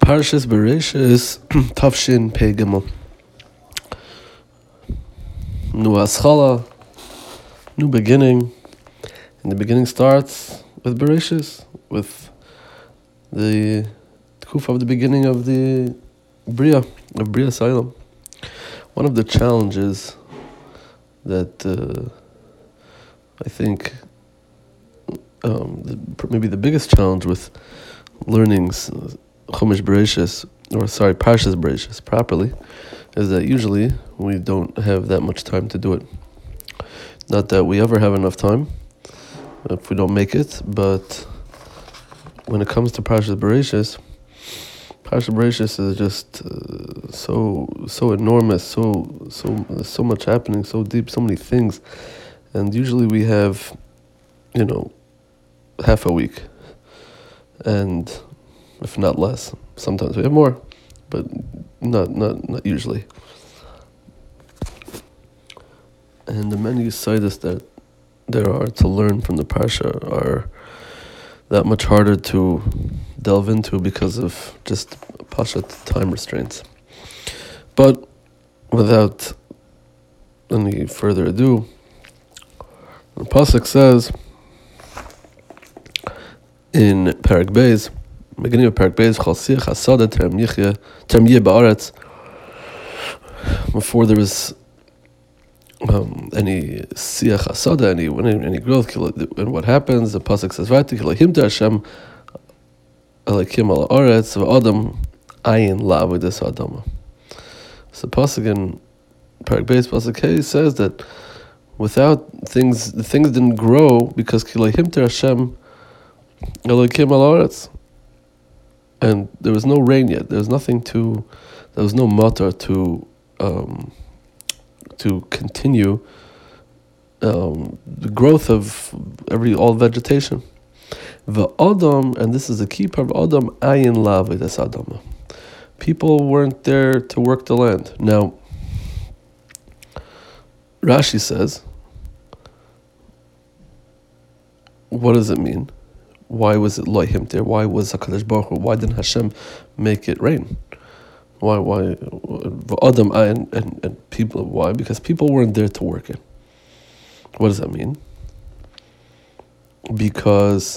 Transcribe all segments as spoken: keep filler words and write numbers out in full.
Parshas Bereshis Tafshin Pei Gimel. New Aschala, new beginning, and the beginning starts with Bereshis, with the Kuf of the beginning of the Bria, of Bria Asylum. One of the challenges that uh, I think um, the, maybe the biggest challenge with learning Chumash Bereshis, or sorry, Parshas Bereshis properly, is that usually we don't have that much time to do it. Not that we ever have enough time if we don't make it, but when it comes to Parshas Bereshis, Parshas Bereshis is just uh, so so enormous, so so so much happening, so deep, so many things, and usually we have, you know, half a week, and if not less. Sometimes we have more, but not not not usually. And the many sidus that there are to learn from the parsha are that much harder to delve into because of just pashat time restraints. But without any further ado, the pasuk says in Parak Beis, beginning of Parak Beis, Chol siach hasada terem yichya terem yeh ba'aretz. Before there was um, any siach hasada, any any, any growth, and what happens? The pasuk says, "Vaytik Elohim to Hashem Elokim al haaretz v'adam ayin la'avodas ha'adama." So pasuk in Parak Beis, pasuk Hey says that without things, the things didn't grow because Elohim to Hashem Elokim al haaretz. And there was no rain yet. There was nothing to, there was no matter to, um, to continue um, the growth of every all vegetation. The Adam, and this is the key part of Adam, ayin la'avodas ha'adama. People weren't there to work the land. Now, Rashi says, what does it mean? Why was it Elohim there? Why was HaKadosh Baruch Hu? Why didn't Hashem make it rain? Why? Why? Adam and, and, and people. Why? Because people weren't there to work it. What does that mean? Because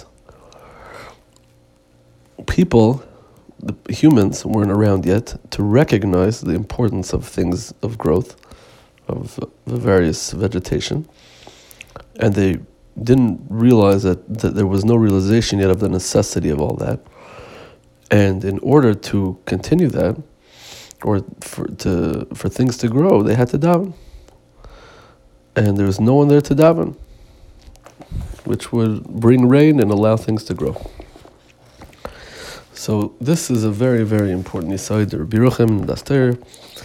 people, the humans, weren't around yet to recognize the importance of things of growth, of the various vegetation, and they didn't realize that, that there was no realization yet of the necessity of all that. And in order to continue that, or for to for things to grow, they had to daven. And there was no one there to daven, which would bring rain and allow things to grow. So this is a very, very important yesod. Rabbi Yerucham Daster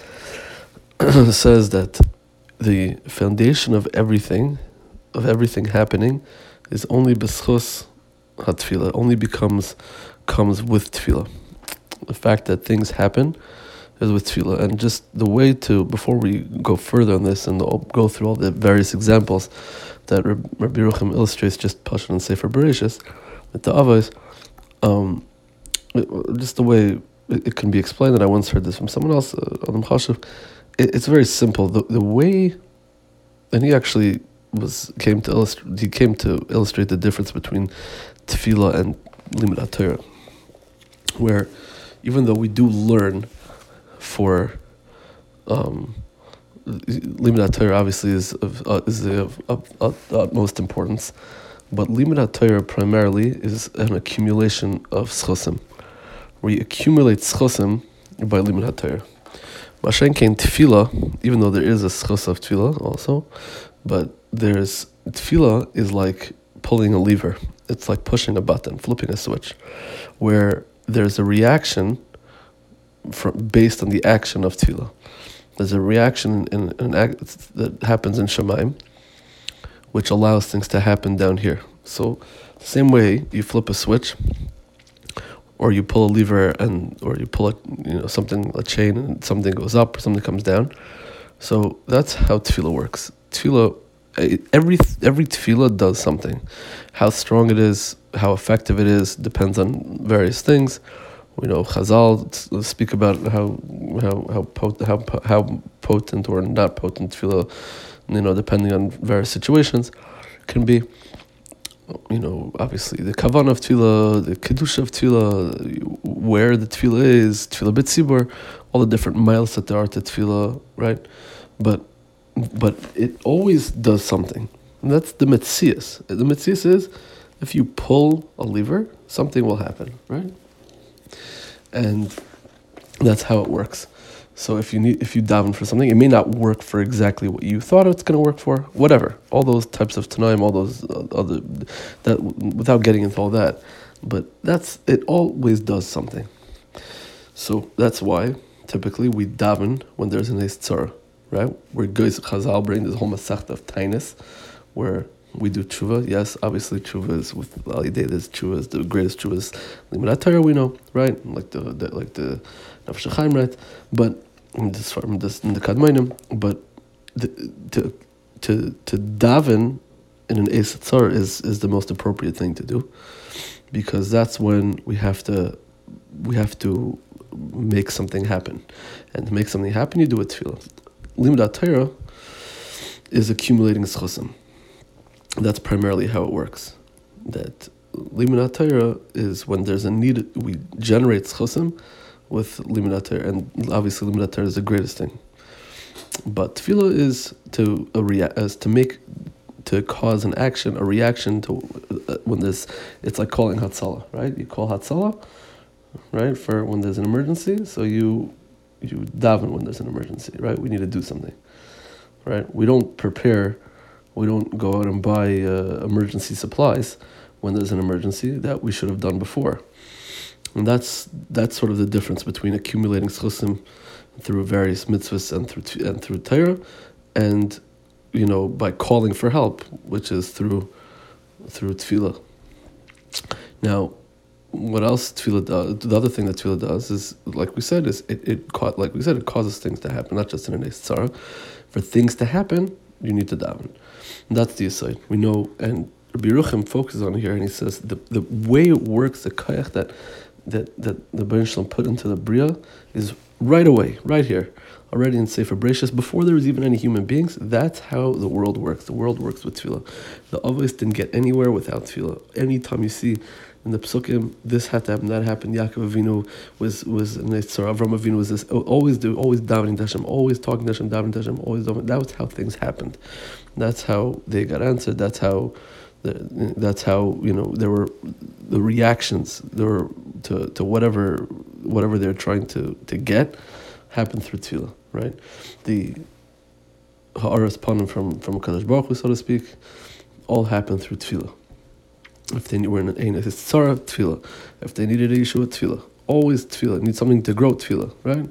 says that the foundation of everything of everything happening is only b'schus hatfila, only becomes comes with tefillah. The fact that things happen is with tefillah. And just the way to, before we go further on this and go through all the various examples that Rabbi Yerucham illustrates, just Pashut and Sefer Bereshis, with the Avos, um, just the way it, it can be explained, that I once heard this from someone else, uh, Adam Chashuv, it, it's very simple. The, the way, and he actually was came to illustrate. He came to illustrate the difference between tefillah and limud haTorah, where even though we do learn for um, limud haTorah, obviously is of uh, is of, of, of utmost importance, but limud haTorah primarily is an accumulation of schusim, where you accumulate schusim by limud haTorah. Mashen kein tefillah, even though there is a schus of tefillah also, but there's tefillah is like pulling a lever. It's like pushing a button, flipping a switch, where there's a reaction from, based on the action of tefillah. There's a reaction in, in an act that happens in Shemaim, which allows things to happen down here. So, the same way you flip a switch, or you pull a lever, and or you pull a you know something a chain, and something goes up, or something comes down. So that's how tefillah works. Tefillah, every every tefillah does something. How strong it is, how effective it is, depends on various things. We know Chazal speak about how how how potent, how how potent or not potent tefillah, you know, depending on various situations, can be. You know, obviously the kavan of tefillah, the kedusha of tefillah, where the tefillah is, tefillah b'tzibur, all the different miles that there are to tefillah, right? But but it always does something. And that's the metzias. The metzias is, if you pull a lever, something will happen, right? And that's how it works. So if you need, if you daven for something, it may not work for exactly what you thought it's going to work for. Whatever, all those types of tanaim, all those other, that without getting into all that, but that's it. Always does something. So that's why typically we daven when there's an eis tzara, right? Where Goyz Chazal bring this whole masechta of tainis, where we do tshuva. Yes, obviously tshuva is with Al Yidei. There's tshuva is the greatest tshuva is Limud Torah, we know, right? Like the, the like the Nefesh HaChaim, right? But in this from this in the Kadmonim, but the, to to to daven in an eis tzara is is the most appropriate thing to do, because that's when we have to we have to make something happen, and to make something happen, you do it tefillah. Limud Torah is accumulating schusim. That's primarily how it works. That Limud Torah is when there's a need, we generate schusim with Limud Torah, and obviously Limud Torah is the greatest thing. But tefillah is to a rea- as to make, to cause an action, a reaction to uh, when there's, it's like calling Hatzalah, right? You call Hatzalah, right, for when there's an emergency. So you you daven when there's an emergency, right? We need to do something, right? We don't prepare. We don't go out and buy uh, emergency supplies when there's an emergency. That we should have done before. And that's that's sort of the difference between accumulating schusim through various mitzvahs and through and through Torah, and you know, by calling for help, which is through through tefillah. Now, what else tefillah does? The other thing that tefillah does is, like we said, is it it like we said, it causes things to happen, not just in an eis tzara. For things to happen, you need to daven. And that's the aside. We know, and Rabbi Yerucham focuses on here, and he says the the way it works, the koyach that that that the Baruch Shalom put into the bria is right away, right here, already in Sefer Bereshis, before there was even any human beings. That's how the world works. The world works with tefillah. The Avos didn't get anywhere without tefillah. Anytime you see in the Psukim, this had to happen, that happened. Yaakov Avinu was was an eis tzara. Avram Avinu was this. Always do, always davening to Hashem, always talking to Hashem, davening to Hashem, always davening. That was how things happened. That's how they got answered. That's how, the, that's how you know there were the reactions. There were to to whatever whatever they're trying to to get happened through tefillah, right? The ha'aras panim from from Kadosh Baruch Hu, so to speak, all happened through tefillah. If they were in an eis tzara, tefillah. If they needed a yeshua, tefillah. Always tefillah. Need something to grow, tefillah, right?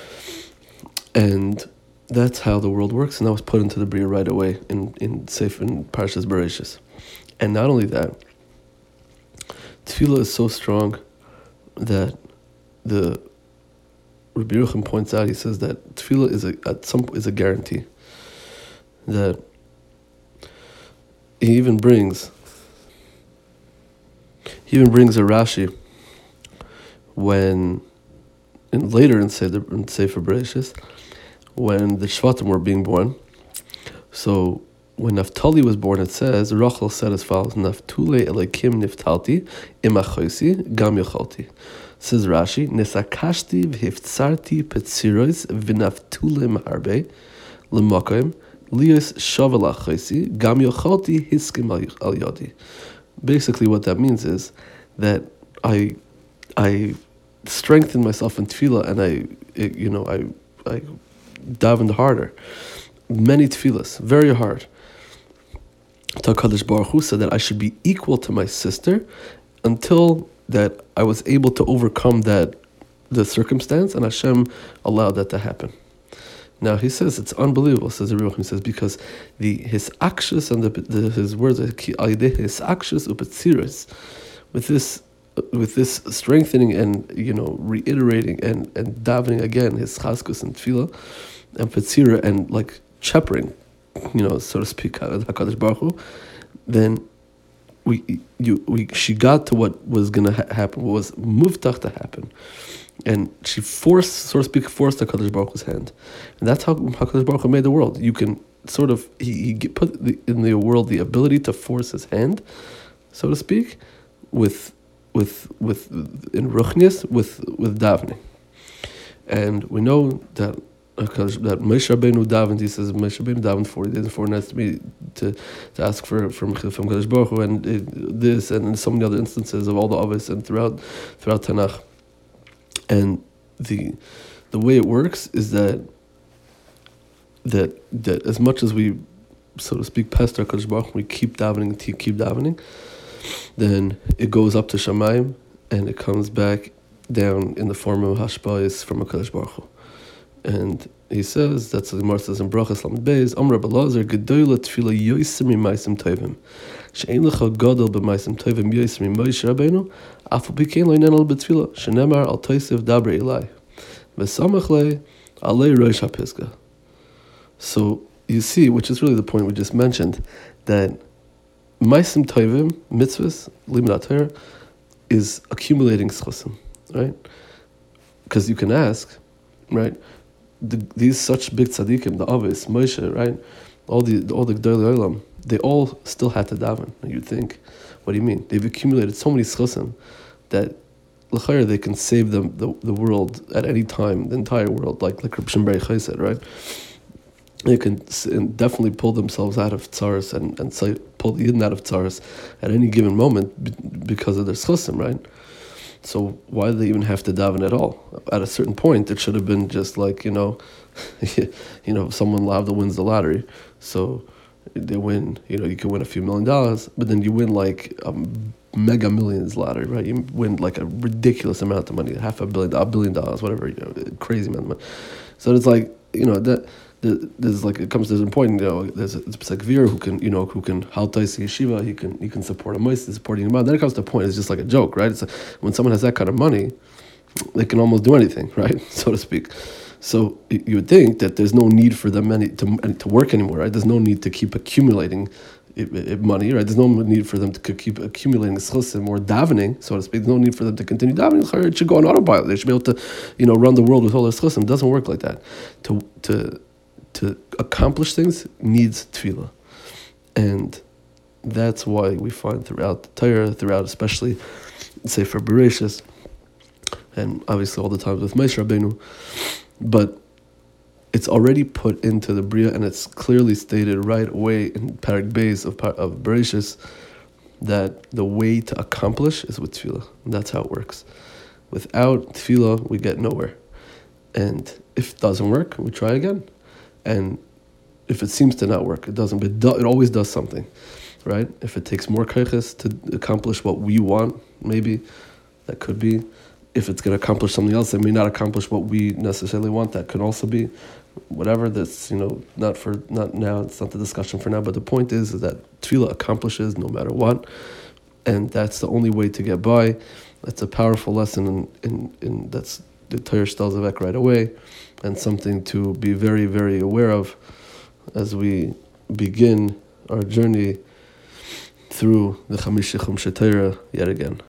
And that's how the world works, and that was put into the bria right away in in Sefer in Parshas Bereshis. And not only that, tefillah is so strong that the Rabbi Yerucham points out. He says that tefillah is a at some is a guarantee. That he even brings. He even brings a Rashi when, in, later in Sefer, in Sefer Bereshis, when the Shvatim were being born. So when Naphtali was born, it says, Rachel said as follows, Naftule Elokim Niftalti Imachoisi Gam Yochalti. Says Rashi, Nesakashti v'hiftzarti petzirois v'naftule maharbe l'makoim lios shavala choisi Gam Yochalti hiskim al yodi. Basically, what that means is that I, I strengthened myself in tefillah, and I, it, you know, I, I davened harder, many tefillahs, very hard. Kadosh Baruch Hu said that I should be equal to my sister, until that I was able to overcome that, the circumstance, and Hashem allowed that to happen. Now he says it's unbelievable. Says the Ruach, he says because the his actions and the, the his words his actions upetziris, with this with this strengthening and you know reiterating and, and davening again his chaskus and tefillah and petzira and like shepherding, you know, so to speak, Hakadosh Baruch Hu, then we you we she got to what was gonna ha- happen, what was muftach to happen, and she forced, so to speak, forced Hakadosh Baruch Hu's hand, and that's how Hakadosh Baruch Hu made the world. You can sort of he, he put the, in the world the ability to force his hand, so to speak, with with with in ruchnius with with davening, and we know that. Because that Moshe Rabbeinu davened, he says Moshe Rabbeinu davened forty days and forty nights to me to to ask for from from Kadosh Baruch Hu, and it, this and so many other instances of all the Avos and throughout throughout Tanakh. And the the way it works is that that that as much as we, so to speak, pester Kadosh Baruch Hu, we keep davening and keep davening, then it goes up to Shamayim and it comes back down in the form of hashpa'is from a Kadosh Baruch Hu. And he says, that's the Gemara says in Brachas Lamed Beis, Amar Rabbi Elazar, Gedola Tefila Yoser Mimaisim Tovim, She'ein Lecha Gadol B'Maisim Tovim Yoser Mimoshe Rabbeinu, Afal Pikein Lo Yinen Al B'Tefila, Shenemar Al Toisiv Daber Elai, V'Samach Le Alei Rosh HaPisga. So you see, which is really the point we just mentioned, that Maisim Tovim, mitzvahs, Limud HaTorah, is accumulating schusim, right? Because you can ask, right? The, these such big tzaddikim, the Avis, Moshe, right? All the all the Gdolei Olam, they all still had to daven. You'd think, what do you mean? They've accumulated so many schusim that l'chayr they can save them the, the world at any time, the entire world, like like Reb Shimon Bar Yochai said, right? They can definitely pull themselves out of tzaras and and say, pull the Yidden out of tzaras at any given moment because of their schusim, right? So why do they even have to daven at all? At a certain point, it should have been just like, you know, you know, someone lavda wins the lottery, so they win. You know, you can win a few million dollars, but then you win like a mega millions lottery, right? You win like a ridiculous amount of money, half a billion, a billion dollars, whatever, you know, crazy amount of money. So it's like, you know, that. There's like it comes to a point, you know. There's a Pesach-Vir who can, you know, who can haltais yeshiva. He can he can support a moist, supporting a man. Then it comes to a point. It's just like a joke, right? It's like when someone has that kind of money, they can almost do anything, right, so to speak. So you would think that there's no need for them any, to to work anymore, right? There's no need to keep accumulating it, it, money, right? There's no need for them to keep accumulating schusim or davening, so to speak. There's no need for them to continue davening. It should go on autopilot. They should be able to, you know, run the world with all their schusim. It doesn't work like that. To to To accomplish things needs tefillah, and that's why we find throughout the Torah, throughout especially, say for Bereshis, and obviously all the times with Moshe Rabbeinu, but it's already put into the Bria, and it's clearly stated right away in Parak Beis of of Bereshis that the way to accomplish is with tefillah. And that's how it works. Without tefillah, we get nowhere, and if it doesn't work, we try again. And if it seems to not work, it doesn't, but it, do, it always does something, right? If it takes more kaiches to accomplish what we want, maybe, that could be. If it's going to accomplish something else that may not accomplish what we necessarily want, that could also be. Whatever, that's, you know, not for, not now, it's not the discussion for now, but the point is, is that tefillah accomplishes no matter what, and that's the only way to get by. That's a powerful lesson, in, in, in that's the Torah Shtalzavek right away, and something to be very, very aware of as we begin our journey through the Chamish Chumshei Torah yet again.